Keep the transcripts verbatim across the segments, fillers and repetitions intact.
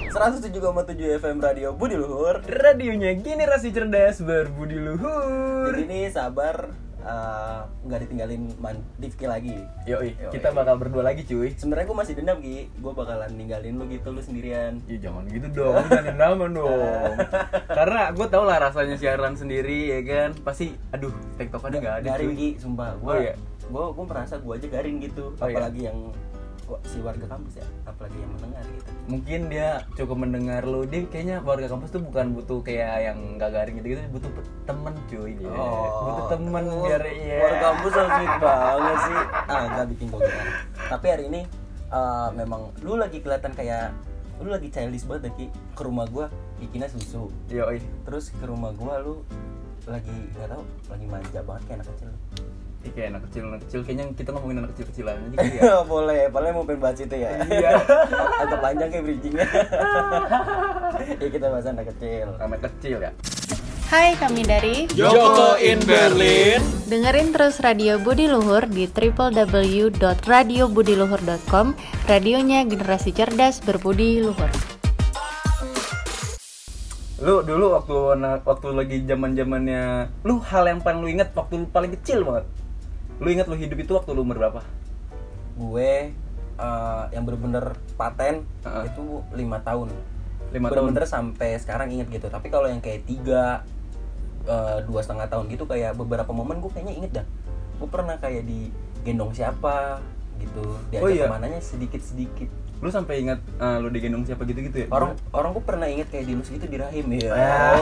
seratus tujuh koma tujuh F M Radio Budi Luhur. Radionya generasi cerdas berbudi luhur. Jadi nih sabar, uh, nggak ditinggalin Man Difki lagi. Yoi, kita bakal berdua lagi cuy. Sebenarnya gue masih dendam Ki, gue bakalan ninggalin lu gitu, lu sendirian. Ih jangan gitu dong, jangan dendaman dong. Karena gue tau lah rasanya siaran sendiri ya kan. Pasti, aduh, tektokannya nggak ada. Garing cuy. Ki, sumpah. Gue, Oh, iya? gue, gue merasa gue aja garing gitu. Oh, iya? Apalagi yang gua, si warga kampus ya, apalagi yang mendengar gitu. Mungkin dia cukup mendengar lu, dia kayaknya warga kampus tuh bukan butuh kayak yang gak garing gitu-gitu, butuh temen cuy dia. Oh, butuh temen biar ya. Warga kampus so sweet banget sih. Ah, nggak bikin gue gitu. Tapi hari ini uh, memang lu lagi kelihatan kayak lu lagi childish banget Ki. Ke rumah gua bikinnya susu. Yoi. Terus ke rumah gua lu lagi nggak tahu, lagi manja banget kayak anak kecil. Ih, kayak anak kecil, anak kecil. Kayaknya kita ngomongin anak kecil-kecilan aja gitu ya. Boleh, boleh mau pengen bahas itu ya. Iya. Agak panjang kayak bridgingnya. Ya kita bahas anak kecil. Anak kecil ya. Hai, kami dari Joko in Berlin. dengerin terus Radio Budi Luhur di w w w dot radio budi luhur dot com. Radionya generasi cerdas berbudi luhur. Lu dulu waktu waktu lagi zaman-zamannya, lu hal yang paling lu inget waktu lu paling kecil banget. Lu inget lu hidup itu waktu lu umur berapa? Gue uh, yang bener-bener paten Uh-uh. itu lima tahun. lima tahun. Bener-bener sampai sekarang inget gitu. Tapi kalau yang kayak tiga uh, dua setengah tahun gitu, kayak beberapa momen gue kayaknya inget dah. Gue pernah kayak digendong siapa gitu, diajak Oh, iya? kemananya sedikit-sedikit. Lu sampai ingat uh, lu digendong siapa gitu-gitu ya? Orang orang gue pernah inget kayak dilus gitu di rahim ya. Ah.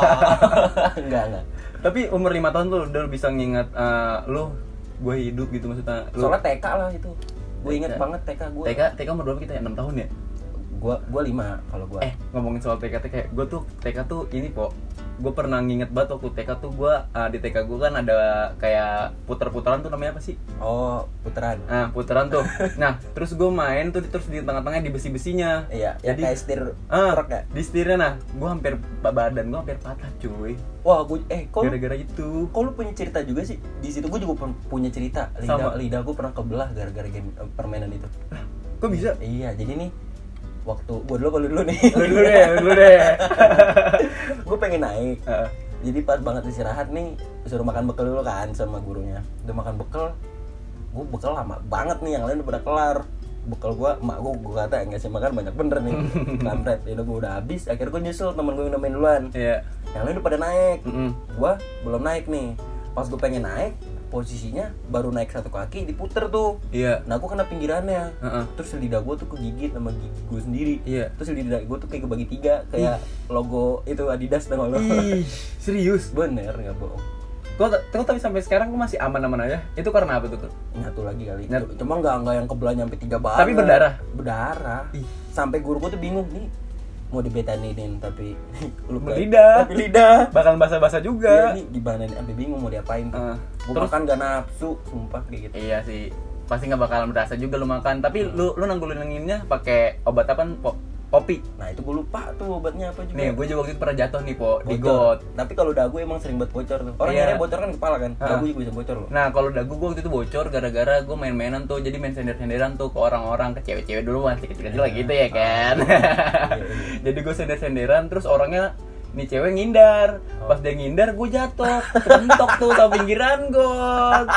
Oh. enggak enggak. Tapi umur lima tahun tuh udah bisa ngingat uh, lu gue hidup gitu maksudnya. Lu Soalnya T K lah itu. Gue inget T K. banget T K gue. T K T K umur berapa kita ya? enam tahun ya? Gue gue lima kalau gue. Eh, ngomongin soal T K T K, gue tuh T K tuh ini po, gue pernah nginget banget waktu T K tuh gue uh, di T K gue kan ada kayak puter-puteran tuh namanya apa sih? Oh, puteran. Nah, puteran tuh. Nah, terus gue main tuh terus di tengah-tengahnya di besi-besinya. Iya, yang Jadi kayak setir ah, truk ya. di setirnya nah, gue hampir badan gue hampir patah cuy. Wah, gue eh kok lu, Gara-gara itu. kok lu punya cerita juga sih? Di situ gue juga pu- punya cerita. Lidah Sama. lidah gue pernah kebelah gara-gara game eh, permainan itu. Kok bisa? Iya, jadi nih waktu gue dulu kalau dulu nih. Lu dulu deh, lu dulu deh. Gue pengen naik. Heeh. Jadi pas banget istirahat nih, suruh makan bekal dulu kan sama gurunya. Udah makan bekal, gue bekal lama banget nih, yang lain udah pada kelar. Bekal gue, emak gue, gue kata ngasih makan banyak bener nih. Kampret, ya udah gue udah habis. Akhirnya gue nyusul temen gue yang udah main duluan. Iya. Yang lain udah pada naik. Mm-mm. Gue belum naik nih. Pas gue pengen naik, posisinya baru naik satu kaki diputer tuh. Iya. Nah gue kena pinggirannya. Heeh. Terus lidah gue tuh kegigit sama gigi gue sendiri. Iya. Terus lidah gue tuh kayak kebagi tiga, kayak logo itu Adidas tau gak lo? Ih, serius? Bener, gak bohong. Kok kok tapi sampai sekarang kok masih aman-aman aja? Itu karena apa tuh? Tuh? Nyatu lagi kali. Nyatu. Cuma nggak nggak yang kebelah nyampe tiga banget. Tapi berdarah? Berdarah. Ih. Sampai guru gue tuh bingung nih, mau dibetaninin tapi luka. Lidah. Tapi lidah. Bakal basah-basah Iya juga. nih gimana nih, sampai bingung mau diapain. Uh, Gue terus- makan gak nafsu, sumpah kayak gitu. Iya sih. Pasti nggak bakalan berasa juga lu makan. Tapi lu lu nanggulinginnya pakai obat apa? Po, kopi. Nah itu gue lupa tuh obatnya apa juga. Nih, gue juga waktu itu pernah jatuh nih, po, di Bocor. got. Tapi kalau dagu emang sering buat bocor tuh. Orang Iya. akhirnya bocor kan kepala kan. Ah. Dagu juga bisa bocor loh. Nah, kalau dagu gue waktu itu bocor gara-gara gue main-mainan tuh. Jadi main sender-senderan tuh ke orang-orang, ke cewek-cewek dulu masih kecil-kecil lah gitu ya kan. Jadi gue sender-senderan terus orangnya nih cewek ngindar. Pas dia ngindar gue jatuh, kepentok tuh sama pinggiran got.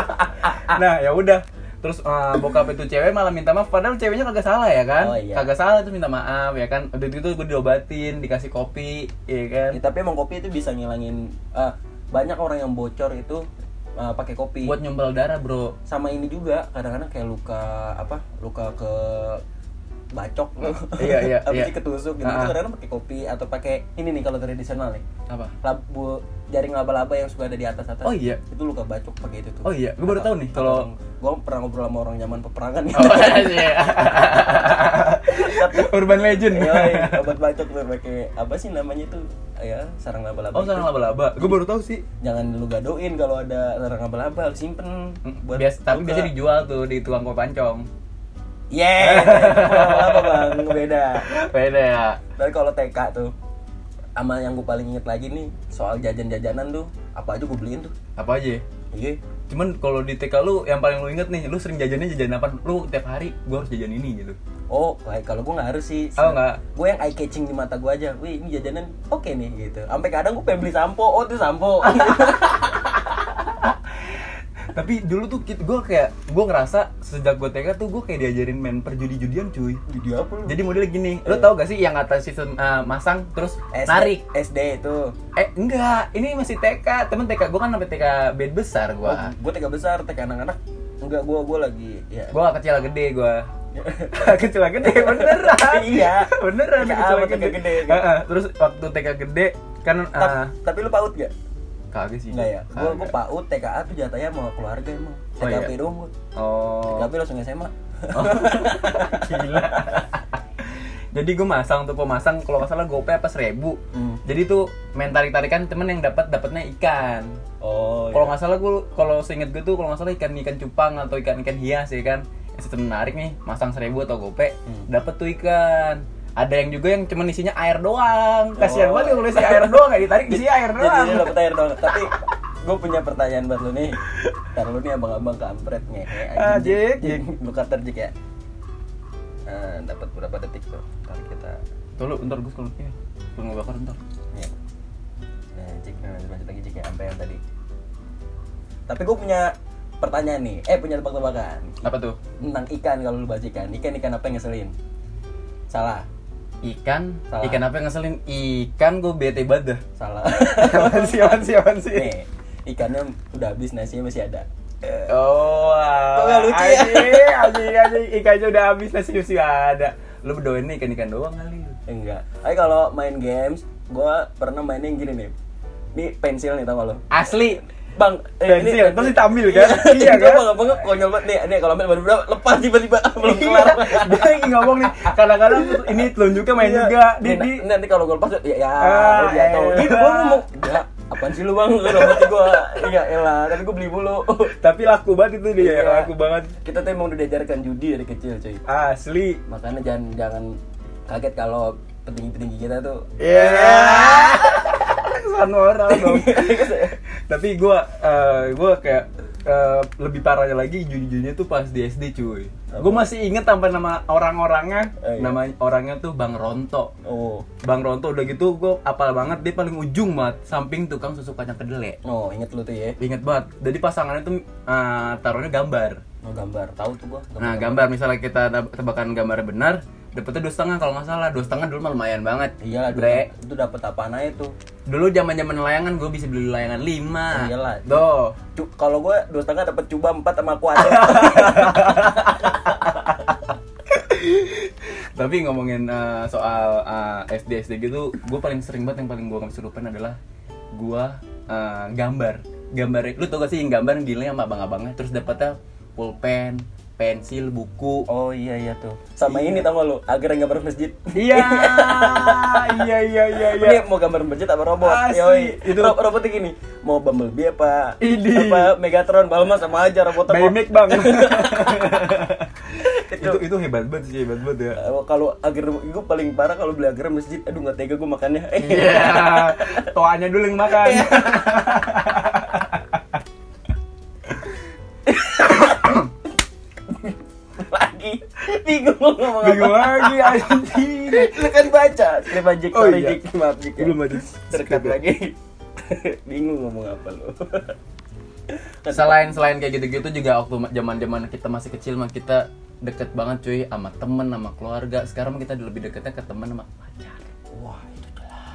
Nah, ya udah. Terus uh, bokap itu cewek malah minta maaf padahal ceweknya kagak salah ya kan. Oh, iya. Kagak salah tuh minta maaf ya kan. Udah gitu gue diobatin, dikasih kopi, ya kan. Ya, tapi emang kopi itu bisa ngilangin ah, banyak orang yang bocor itu ah, pakai kopi. Buat nyumbal darah, Bro. Sama ini juga kadang-kadang kayak luka apa? Luka ke bacok. Iya, iya, Apa iya. sih ketusuk gitu. Ah, ah. Itu kadang-kadang pakai kopi atau pakai ini nih kalau tradisional nih. Apa? Labu jaring laba-laba yang suka ada di atas-atas. Oh iya. Itu luka bacok pakai itu tuh. Oh iya, gue baru tahu nih kalau gue pernah ngobrol sama orang zaman peperangan gitu. oh, iya. Urban Legend. Iya, obat bacok tuh pakai apa sih namanya tuh? Ya, sarang laba-laba. Oh, itu. sarang laba-laba. Gue baru tahu sih. Jangan lu gadoin kalau ada sarang laba-laba, harus simpen buat Bias, tapi luka. biasa dijual tuh di tukang kue pancong. Yeah, apa bang, beda. Beda ya. Tapi kalau T K tuh, sama yang gue paling inget lagi nih soal jajan-jajanan tuh, apa aja gue beliin tuh. Apa aja? Iya, Cuman kalau di T K lu yang paling lu inget nih, lu sering jajannya jajan apa? Lu tiap hari gua harus jajan ini gitu. Oh, kayak kalau gue nggak harus sih. Oh, nggak. Gue yang eye catching di mata gue aja. Wih, ini jajanan oke okay nih gitu. Sampai kadang gue pengen beli sampo. Oh, itu sampo. Tapi dulu tuh gue kayak gue ngerasa sejak gue T K tuh gue kayak diajarin main perjudi-judian cuy. Judi apa lu? Jadi modelnya gini, lu tau gak sih yang atas sistem uh, masang terus S D, narik? S D itu. Eh enggak, ini masih T K. Temen T K gue kan sampai T K bed besar gue. Oh, gue T K besar, T K anak-anak. Enggak, gue gue lagi ya. Gue kecil gede gue. Kecil gede beneran. Iya. Beneran T K kecil apa, T K gede. gede, gitu. Uh-uh. Terus waktu T K gede kan uh, Ta- tapi lu PAUD gak? kagak sih. Enggak ya. Gue gue Kagak. PAUD, T K A tuh jatahnya sama keluarga emang. T K P Oh, iya. doang gue. Oh. T K P langsung S M A. Oh. Gila. Jadi gue masang tuh pemasang kalau nggak salah gope apa seribu. Hmm. Jadi tuh main tarik tarikan temen yang dapat dapatnya ikan. Oh. Kalau nggak salah gue, kalau seinget gue tuh kalau nggak salah ikan ikan cupang atau ikan ikan hias ya kan. Yang sistem menarik nih, masang seribu atau gope, Hmm. dapat tuh ikan. Ada yang juga yang cuma isinya air doang. Kasihan Oh. banget kalau isi air doang, kayak ditarik isi air Jadi doang. dia dapet air doang. Tapi gue punya pertanyaan buat lu nih. Ntar lu nih abang-abang kampret ngehe Ah, anjing. Jik, Jik. Lu kata Jik ya. Nah, dapat berapa detik tuh? Ntar kita Tuh lu, ntar gue kalau ini, gue ngebakar ntar. ya. Nah, Jik, nah, lanjut lagi Jik ya, sampai yang tadi. Tapi gue punya pertanyaan nih. Eh, punya tebak-tebakan. Apa tuh? Tentang ikan, kalau lu bahas ikan. Ikan ikan apa yang ngeselin? Salah. Ikan, Salah. ikan apa yang ngeselin? Ikan gue bete banget dah. Salah. Apaan sih, apaan sih, apaan sih? Nih, ikannya udah habis, nasinya masih ada. Eh, Oh, Kok nggak lucu ya? anjing, anjing, anjing, ikannya udah habis, nasi masih ada. Lu berdoain nih ikan-ikan doang kali. Enggak. Tapi kalau main games, gua pernah mainin gini nih. Ini pensil nih, tau gak lo? Asli. Bang, Pensil, terus ditambil kan? Iya kan? Bang, bang, konyol banget nih. Nih kalau main baru berapa lepas tiba-tiba belum kelar. Dia lagi ngomong nih, kadang-kadang ini telunjuknya main Iya. juga. Di, Nih, di. na- nanti kalau gua lepas ya ya Ah, jatuh. elah. Gitu gua ngomong, "Ya, apaan sih lu, Bang?" Udah mati gua. Iya, elah, tapi gua beli mulu. Tapi laku banget itu dia, Iya. laku banget. Kita tuh emang udah diajarkan judi dari kecil, cuy. Asli. Makanya jangan jangan kaget kalau petinggi-petinggi kita tuh Iya. Kesan orang dong. Tapi gue, uh, gue kayak uh, lebih parahnya lagi judi-judinya tuh pas di S D cuy. Gue masih inget sampai nama orang-orangnya, Eh, iya. nama orangnya tuh Bang Ronto. Oh. Bang Ronto udah gitu gue apal banget, dia paling ujung banget, samping tukang susu kacang kedelai. Oh, inget lu tuh ya. Inget banget. Jadi pasangannya tuh uh, taruhnya gambar. Oh, gambar. Tahu tuh gua. Nah gambar misalnya kita teb- tebakan gambarnya benar, dapetnya dua setengah kalau nggak salah. Dua setengah dulu mah lumayan banget. Iyalah, dulu Bre. itu dapat apaan aja tuh. Dulu zaman-zaman layangan gue bisa beli layangan lima. Oh, iyalah. Tuh. Cu- kalau gua dua setengah dapat cuba empat sama kuadrat. Tapi ngomongin uh, soal uh, S D S D gitu, gue paling sering banget yang paling gue nggak bisa lupain adalah gue uh, gambar. Gambar, lu tau gak sih yang gambar yang dinilai sama abang-abangnya, terus dapetnya pulpen, pensil, buku. Oh iya iya tuh. Sama ini tau gak lu? Agar gambar masjid. Iya, iya, iya, iya, iya. Ini mau gambar masjid apa robot? Asli, Yoi. itu. Ro- robotnya gini. Mau Bumblebee apa? Ini. Apa Megatron? Balma sama aja robotnya. kok. Baymek bang. Itu. itu itu hebat banget sih, hebat banget ya. Eh, Kalau agar gue paling parah kalau beli agar masjid. Aduh nggak tega gue makannya. Iya, toanya dulu yang makan. Lagi bingung mau ngomong apa. Bingung lagi anjing. Lu kan baca skrip Jik, Oh, sorry iya. Jik, maaf Jik ya. Belum aja. Terkat lagi. Bingung ngomong apa lu. Selain selain kayak gitu-gitu juga waktu zaman-zaman kita masih kecil mah kita deket banget cuy sama temen, sama keluarga. Sekarang mah kita lebih deketnya ke temen sama pacar. Wah, itu jelas.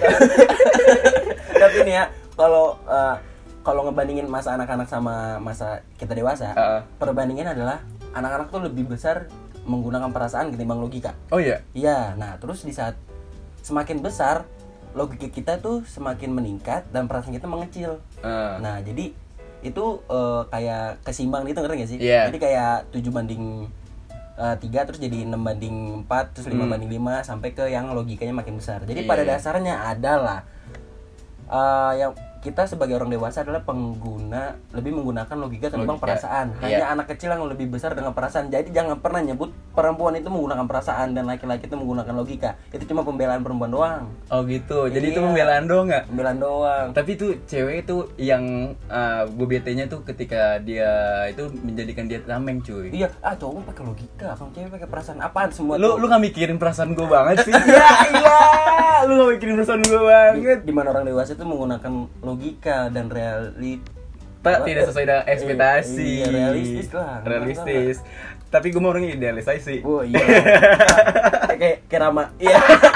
Tapi nih ya, kalau uh, kalau ngebandingin masa anak-anak sama masa kita dewasa, Uh. perbandingan adalah anak-anak tuh lebih besar menggunakan perasaan ketimbang logika. Oh iya. Iya, nah terus di saat semakin besar, logika kita tuh semakin meningkat dan perasaan kita mengecil. Uh. Nah, jadi itu uh, kayak kesimbang gitu, ngerti gak sih? Iya. Jadi kayak tujuh banding tiga terus jadi enam banding empat terus lima Hmm. banding lima sampai ke yang logikanya makin besar. Jadi Iya, pada iya. dasarnya adalah uh, yang kita sebagai orang dewasa adalah pengguna lebih menggunakan logika ketimbang Logika. perasaan. Iya. Hanya anak kecil yang lebih besar dengan perasaan. Jadi jangan pernah nyebut perempuan itu menggunakan perasaan dan laki-laki itu menggunakan logika. Itu cuma pembelaan perempuan doang. Oh gitu. Jadi Iya. itu pembelaan doang nggak? Pembelaan doang. Tapi tuh cewek itu yang uh, gue betenya tuh ketika dia itu menjadikan dia tameng cuy. Iya, ah cowok pakai logika, kalau cewek pakai perasaan. Apaan semua Lu tuh? lu nggak mikirin perasaan gue banget sih? Iya iya. Lu nggak mikirin perasaan gue banget. Di mana orang dewasa itu menggunakan logika dan realit. Pak tidak sesuai dengan ekspektasi. Iya, realistis lah. Realistis. Tapi gue mau orangnya idealisasi. Oh iya. Kayak kayak Rama. Iya.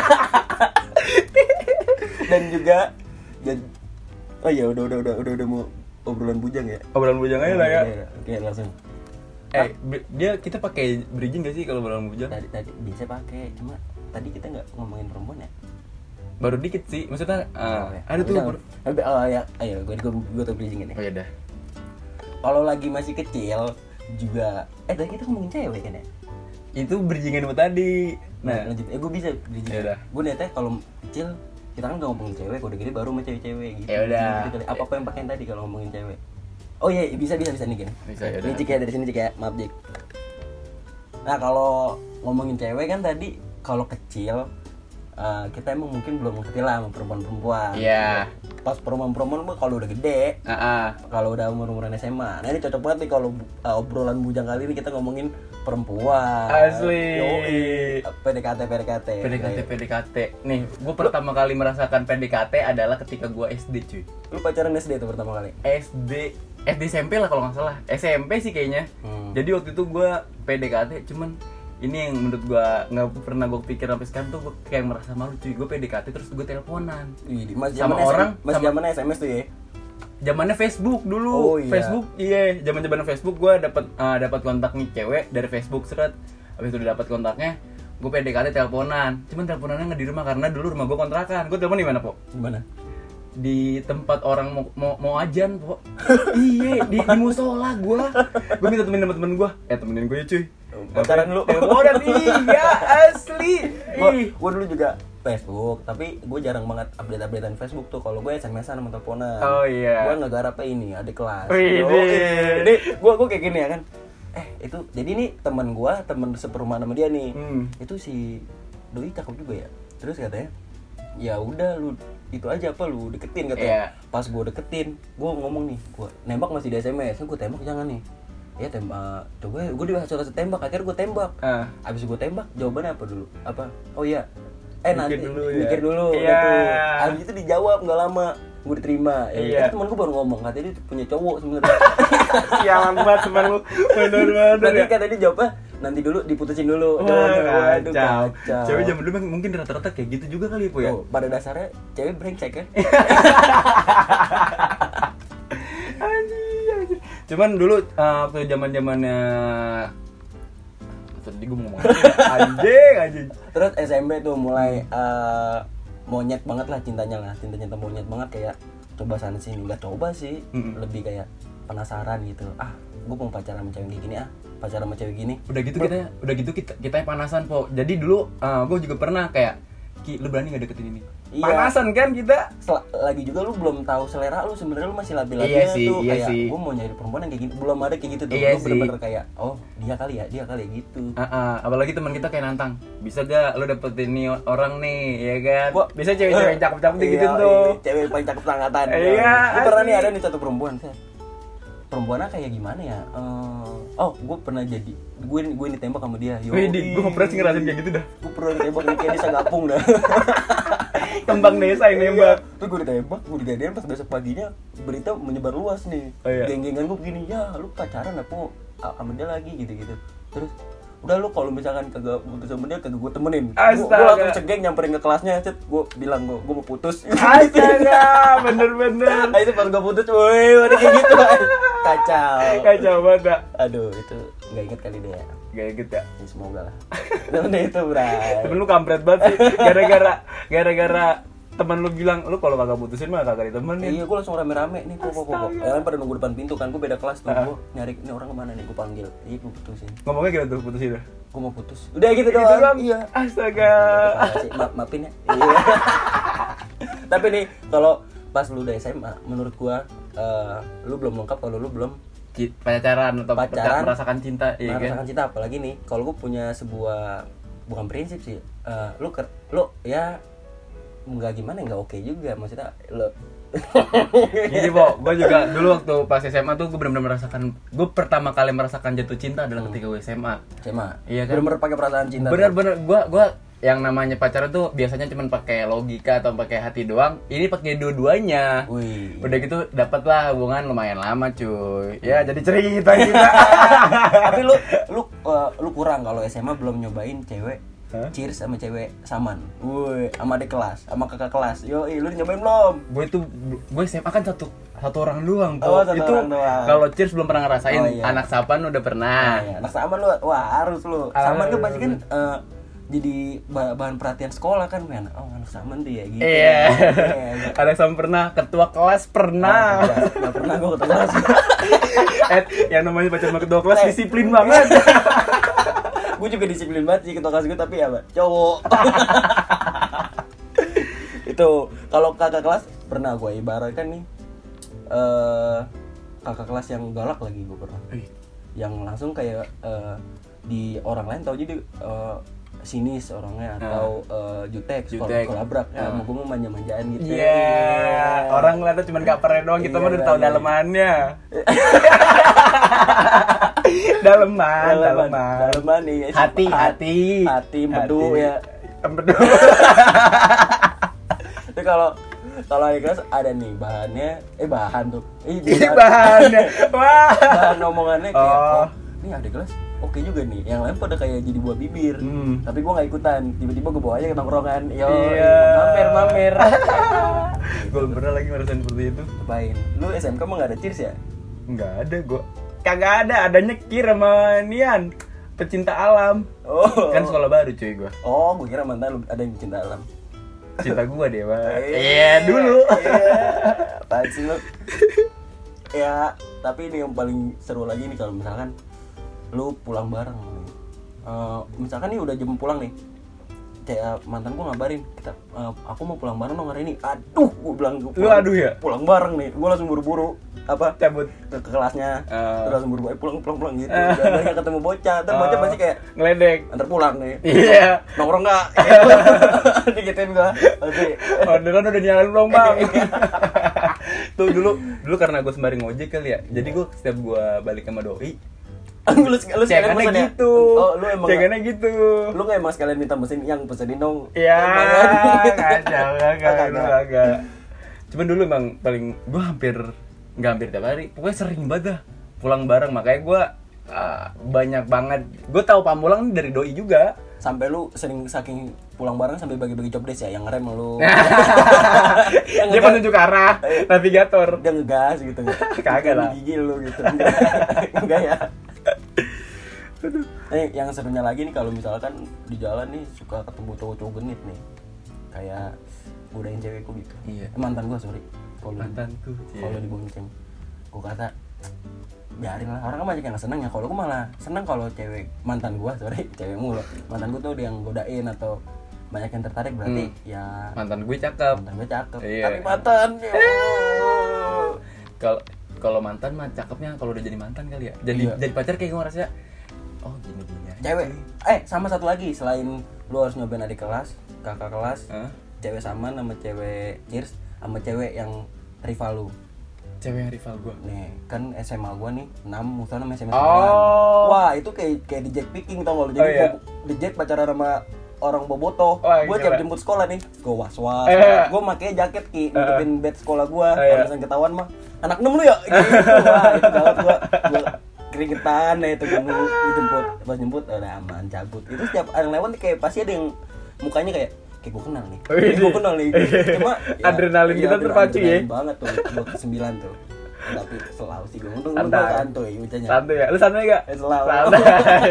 Dan juga jadi oh iya udah udah udah udah udah mau obrolan bujang ya. Obrolan bujang aja lah ya. Iya, iya. Oke, langsung. Eh, b- dia kita pakai bridging gak sih kalau obrolan bujang? Tadi tadi bisa pakai, cuma tadi kita nggak ngomongin perempuan ya. Baru dikit sih. Maksudnya uh, Oh, ya. ada tuh. Udah, ber- udah. Oh ya, ayo gue gue gue tuh bridging ini. Oh ya dah. Kalau lagi masih kecil juga eh tadi kita ngomongin cewek kan ya. Itu bridgingan buat tadi. Nah, Nah, lanjut. Eh gue bisa bridging. Yaudah. Gue niatnya kalau kecil kita kan nggak ngomongin cewek, kalau udah gede baru sama cewek-cewek gitu. Yaudah. Gitu kali. Apa apa yang pakein tadi kalau ngomongin cewek? Oh iya, bisa bisa bisa nih gini. Bisa, yaudah. Ini Cik ya, dari sini Cik ya. Maaf Cik. Nah, kalau ngomongin cewek kan tadi kalau kecil uh, kita emang mungkin belum ngerti lah sama perempuan-perempuan. Iya. Pas perempuan-perempuan mah kalau udah gede, ah, ah. kalau udah umur-umuran S M A. Nah, ini cocok banget nih kalau uh, obrolan bujang kali ini kita ngomongin perempuan. Asli. Yoi. P D K T P D K T. P D K T P D K T. Nih, gue pertama kali merasakan P D K T adalah ketika gue S D cuy. Lu pacaran S D itu pertama kali? S D S D S M P lah kalau nggak salah. S M P sih kayaknya. Hmm. Jadi waktu itu gue P D K T, cuman ini yang menurut gue nggak pernah gue pikir sampai sekarang tuh gue kayak merasa malu cuy. Gue P D K T terus gue teleponan. Wih, masih Sama zaman orang, masih sama- zamannya S M S tuh ya. Zamannya Facebook dulu. Oh, iya. Facebook iya, zaman-zaman Facebook gue dapat uh, dapat kontak nih cewek dari Facebook seret. Habis itu dapat kontaknya, gue P D K T teleponan. Cuman teleponannya nggak di rumah karena dulu rumah gue kontrakan. Gue telepon di mana, Po? Gimana? Di tempat orang mau mau, mau ajan, Po. Iya, di, di musola gue. Gue minta temenin temen-temen gue. Eh, temenin gue ya, cuy. Pacaran lu. Teleponan iya, asli. Gua, Ih. gua dulu juga Facebook, tapi gue jarang banget update-updatean Facebook tuh. Kalau gue S M S-an sama teleponan. Oh, iya. Gue ngegarapnya ini, adik kelas. Wih, Yoi. deh. Jadi gue gue kayak gini ya kan. Eh, itu jadi nih teman gue, teman seperumahan sama dia nih. Hmm. Itu si Doi cakep juga ya. Terus katanya, "Ya udah lu itu aja apa lu deketin," katanya. Iya. Pas gue deketin, gue ngomong nih, gue nembak masih di S M S. Kan gue tembak jangan nih. Ya tembak, coba gue disuruh tembak, akhirnya gue tembak. Ah. Abis gue tembak, jawabannya apa dulu? Apa? Oh iya, eh Mikir nanti dulu ya. mikir dulu Iya. gitu. Abis itu dijawab nggak lama, gue diterima. Ya, Iya. kan temen gue baru ngomong, katanya dia punya cowok sebenarnya. Sialan banget teman lu. Bener banget. Nanti ya. katanya dia jawabnya nanti dulu diputusin dulu. Wah, Waduh, kacau. kacau. Cewek zaman dulu mungkin rata-rata kayak gitu juga kali ya, Po ya. Tuh, pada dasarnya cewek brengsek kan? Anjir, anjir. Cuman dulu uh, waktu zaman-zamannya tadi gue mau ngomong apa ya? anjing, anjing. Terus S M P tuh mulai eh, monyet banget lah cintanya lah, cinta-cinta monyet banget kayak coba sana sini, nggak coba sih, Mm-mm. lebih kayak penasaran gitu. Ah, gue mau pacaran sama cewek kayak gini ah, pacaran sama cewek gini. Udah gitu kita udah gitu kita kita yang panasan, Po. Jadi dulu uh, gue juga pernah kayak Ki, lu berani gak deketin ini? Iya. Panasan kan kita? Sel- lagi juga lu belum tahu selera lu, sebenarnya lu masih labil-labil Iya sih, tuh iya kayak sih. gue mau nyari perempuan yang kayak gini, belum ada kayak gitu tuh. Iya Lu sih. bener-bener kayak oh dia kali ya, dia kali ya gitu. Uh, uh, apalagi teman kita kayak nantang, bisa gak lu dapetin nih orang nih, ya kan? Gua- Bisa cewek-cewek yang cakep-cakep Iya, gitu tuh. iya, cewek paling cakep angkatan. Iya, Gue pernah nih asli. ada nih satu perempuan, saya. Perempuannya kayak gimana ya? Eh, oh, gue pernah jadi gue gue ditembak sama dia. Yo, Wih, gue gak pernah sih ngerasain kayak gitu dah. Gue pernah ditembak nih kayak desa Gapung dah. Kembang desa yang nembak. Terus gue ditembak, gue dijadian pas besok paginya berita menyebar luas nih. Oh, iya. Geng-gengan gue begini, ya lu pacaran apa sama dia lagi gitu-gitu. Terus udah lu kalau misalkan kagak putus sama dia kagak gue temenin. Gue Astaga. langsung cegeng nyamperin ke kelasnya, cet gue bilang gue gue mau putus. Astaga, bener-bener. Nah itu pas gue putus, woi udah kayak gitu. Kacau. Kacau banget, Dak. Aduh itu nggak inget kali deh ya. Gak gitu ya. Ya, semoga lah. Nah itu bray. Temen lu kampret banget sih. Gara-gara gara-gara teman lu bilang lu kalau kagak putusin mah kagak ditemenin. Iya gue langsung rame-rame nih kok kok kok. Ya kan pada nunggu depan pintu kan, gue beda kelas tuh. Ah. Gue nyari ini orang kemana nih, gue panggil. Iya gue putusin. Ngomongnya gimana tuh putusin dah? Gue mau putus. Udah gitu Gitu doang. doang? Iya. Astaga. Terima kasih. Ma maafin ya. Iya. Tapi nih kalau pas lu udah S M A, menurut gua eh, lu belum lengkap kalau lu belum ci- pacaran atau Pacaran, merasakan cinta, iya kan? merasakan cinta apalagi nih kalau gue punya sebuah bukan prinsip sih, uh, lu ker, lu ya nggak gimana nggak oke juga maksudnya lu Gini Bo, gue juga dulu waktu pas S M A tuh gue benar-benar merasakan, gue pertama kali merasakan jatuh cinta adalah ketika gue S M A. S M A, Iya kan? bener-bener pakai perasaan cinta. Bener-bener gue gue yang namanya pacaran tuh biasanya cuma pakai logika atau pakai hati doang. Ini pakai dua-duanya. Wih. Udah gitu dapatlah hubungan lumayan lama cuy. Ya jadi cerita kita. Tapi lu lu uh, lu kurang kalau S M A belum nyobain cewek. Hah? Cheers sama cewek saman. Woi, sama adik kelas, sama kakak kelas. Yo, lu nyobain belum? Gue itu gue S M A kan satu satu orang doang tuh. Oh, satu itu orang doang. kalau cheers belum pernah ngerasain. Oh, iya. Anak sapan udah pernah. Nah, ya, anak saman lu, wah harus lu. Saman kan Harus. pasti kan uh, jadi bah- bahan perhatian sekolah kan, men. Oh, anak saman tuh ya gitu. Iya. Iya. Anak sapan pernah, ketua kelas pernah. Enggak pernah gua ketemu kelas. Eh, yang namanya pacaran sama ketua kelas disiplin banget. Gue juga disiplin banget sih ketua kelas gue, tapi apa? Cowok. Itu kalau kakak kelas pernah gue ibaratkan nih eh kakak kelas yang galak lagi gue pernah. Yang langsung kayak eh, di orang lain tahu jadi eh, sinis orangnya atau uh, jutek, Jutek. kalau labrak ya, Ah. sama gue mau manja-manjaan gitu. Iya, yeah. Orang ngeliatnya cuma kapernya doang, kita Iya, mah udah tahu iya. dalemannya. Daleman, daleman. Daleman nih. Hati, hati. Hati, empedu ya. Empedu. Itu kalau kalau adik kelas ada nih bahannya, eh bahan tuh. Eh, Ini bahannya. Wah. Bahan omongannya kayak, Oh. oh, ini adik kelas oke juga nih. Yang lain pada kayak jadi buah bibir. Hmm. Tapi gua nggak ikutan. Tiba-tiba gua bawa aja ke tongkrongan. Yo, Iya. mamer mamer. Gue belum pernah lagi ngerasain seperti itu. Apain? Lu S M K mah nggak ada cheers ya? Enggak ada gue. Kagak ada, adanya Kir sama Nian. Pecinta alam. Oh. Kan sekolah baru cuy gue. Oh, gua kira mantan lu ada yang cinta alam. Cinta gue dia, Pak. Iya, Iya, dulu. Iya. Apaan sih lu? Ya, tapi ini yang paling seru lagi nih kalau misalkan lu pulang bareng nih. Uh, misalkan nih udah jam pulang nih. Kayak mantan gua ngabarin, kita uh, aku mau pulang bareng dong hari ini. Aduh, gua bilang gua Lu aduh ya? pulang bareng nih. Gua langsung buru-buru apa? Cabut. Ke, ke kelasnya. Uh. Terus langsung buru-buru, "Eh, pulang pulang pulang gitu. Dan banyak ketemu bocah, terus bocah Oh. pasti kayak Ngeledek. antar pulang nih. Iya. Nongkrong enggak? Digituin gua. Pasti. Orderan udah nyalain belum, Bang? Tuh dulu dulu karena gue sembari ngojek kali ya. Jadi gue setiap gue balik sama doi, lu, lu sekalian cekannya pesen ya? gitu. Oh, lu emang cekannya gitu. lu nggak emang sekalian minta mesin yang pesenin dong. Iya, Banget. kacau, kagak, Kagak. dulu kagak. Cuman dulu emang paling gue hampir nggak hampir tiap hari, pokoknya sering banget dah pulang bareng. Makanya gue uh, banyak banget. Gue tahu Pamulang nih dari doi juga. Sampai lu sering saking pulang bareng sampai bagi-bagi job desk ya, yang ngerem lu. Dia ngegas- penunjuk arah, navigator. Dia ngegas gitu. Kagak lah. Gigil lu gitu. Enggak ya. Eh, yang serunya lagi nih kalau misalkan di jalan nih suka ketemu cowok-cowok genit nih. Kayak godain cewekku gitu. Iya. Eh, mantan gua, sorry. Kalau Mantanku. kalau dibonceng. Gua kata biarin lah, orang kan banyak yang seneng ya. Kalau gua malah seneng kalau cewek mantan gua, sorry, cewek mulu. Mantan gua tuh dia yang godain atau banyak yang tertarik, berarti Hmm. ya Mantan gue cakep. mantan gua cakep. Iya. Tapi mantan ya. Kalau kalau mantan mah cakepnya kalau udah jadi mantan kali ya. Jadi Iya. jadi pacar kayak gue ngerasa oh gini gini aja. Cewek. Eh, sama satu lagi selain lu harus nyobain adik kelas, kakak kelas, Hah? cewek sama sama cewek cheers sama cewek yang rival lu. Cewek yang rival gue. Nih, kan S M A gua nih enam musuhan sama S M A Oh. sembilan. Wah, itu kayak kayak di Jack Picking tau gak lu. Jadi Oh, iya. gua di Jack pacaran sama orang bobotoh. Wah, Gua gila. jam jemput sekolah nih. Gua was-was. Eh. Gua makanya jaket ki nutupin bed sekolah gua. Oh, Kalau iya. misalnya ketahuan mah anak enam lu ya. Gitu. Wah, itu gawat gua. Gua keringetan ya itu gua dijemput. Pas jemput udah aman cabut. Itu setiap yang lewat kayak pasti ada yang mukanya kayak kayak gue kenal nih, Oh, kayak iya. gue kenal nih. Cuma Adrenalin kita terpacu ya. adrenalin banget tuh, dua ke sembilan tuh. Tapi selalu sih gue untung untung Santai. santuy ucapnya. Santai ya. Lu santai gak? Eh, selalu. Santai.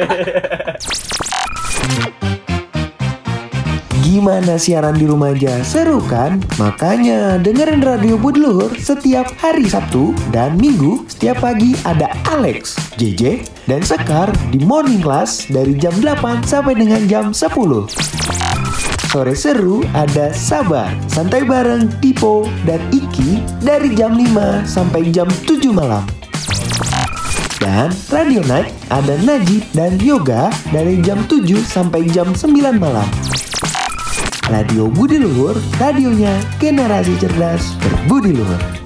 Gimana siaran di rumah aja? Seru kan? Makanya dengerin Radio Budi Luhur setiap hari Sabtu dan Minggu. Setiap pagi ada Alex, J J, dan Sekar di Morning Class dari jam delapan sampai dengan jam sepuluh. Sore seru ada Sabar, Santai bareng Tipo dan Iki dari jam lima sampai jam tujuh malam. Dan Radio Night ada Najib dan Yoga dari jam tujuh sampai jam sembilan malam. Radio Budi Luhur, radionya generasi cerdas berbudi luhur.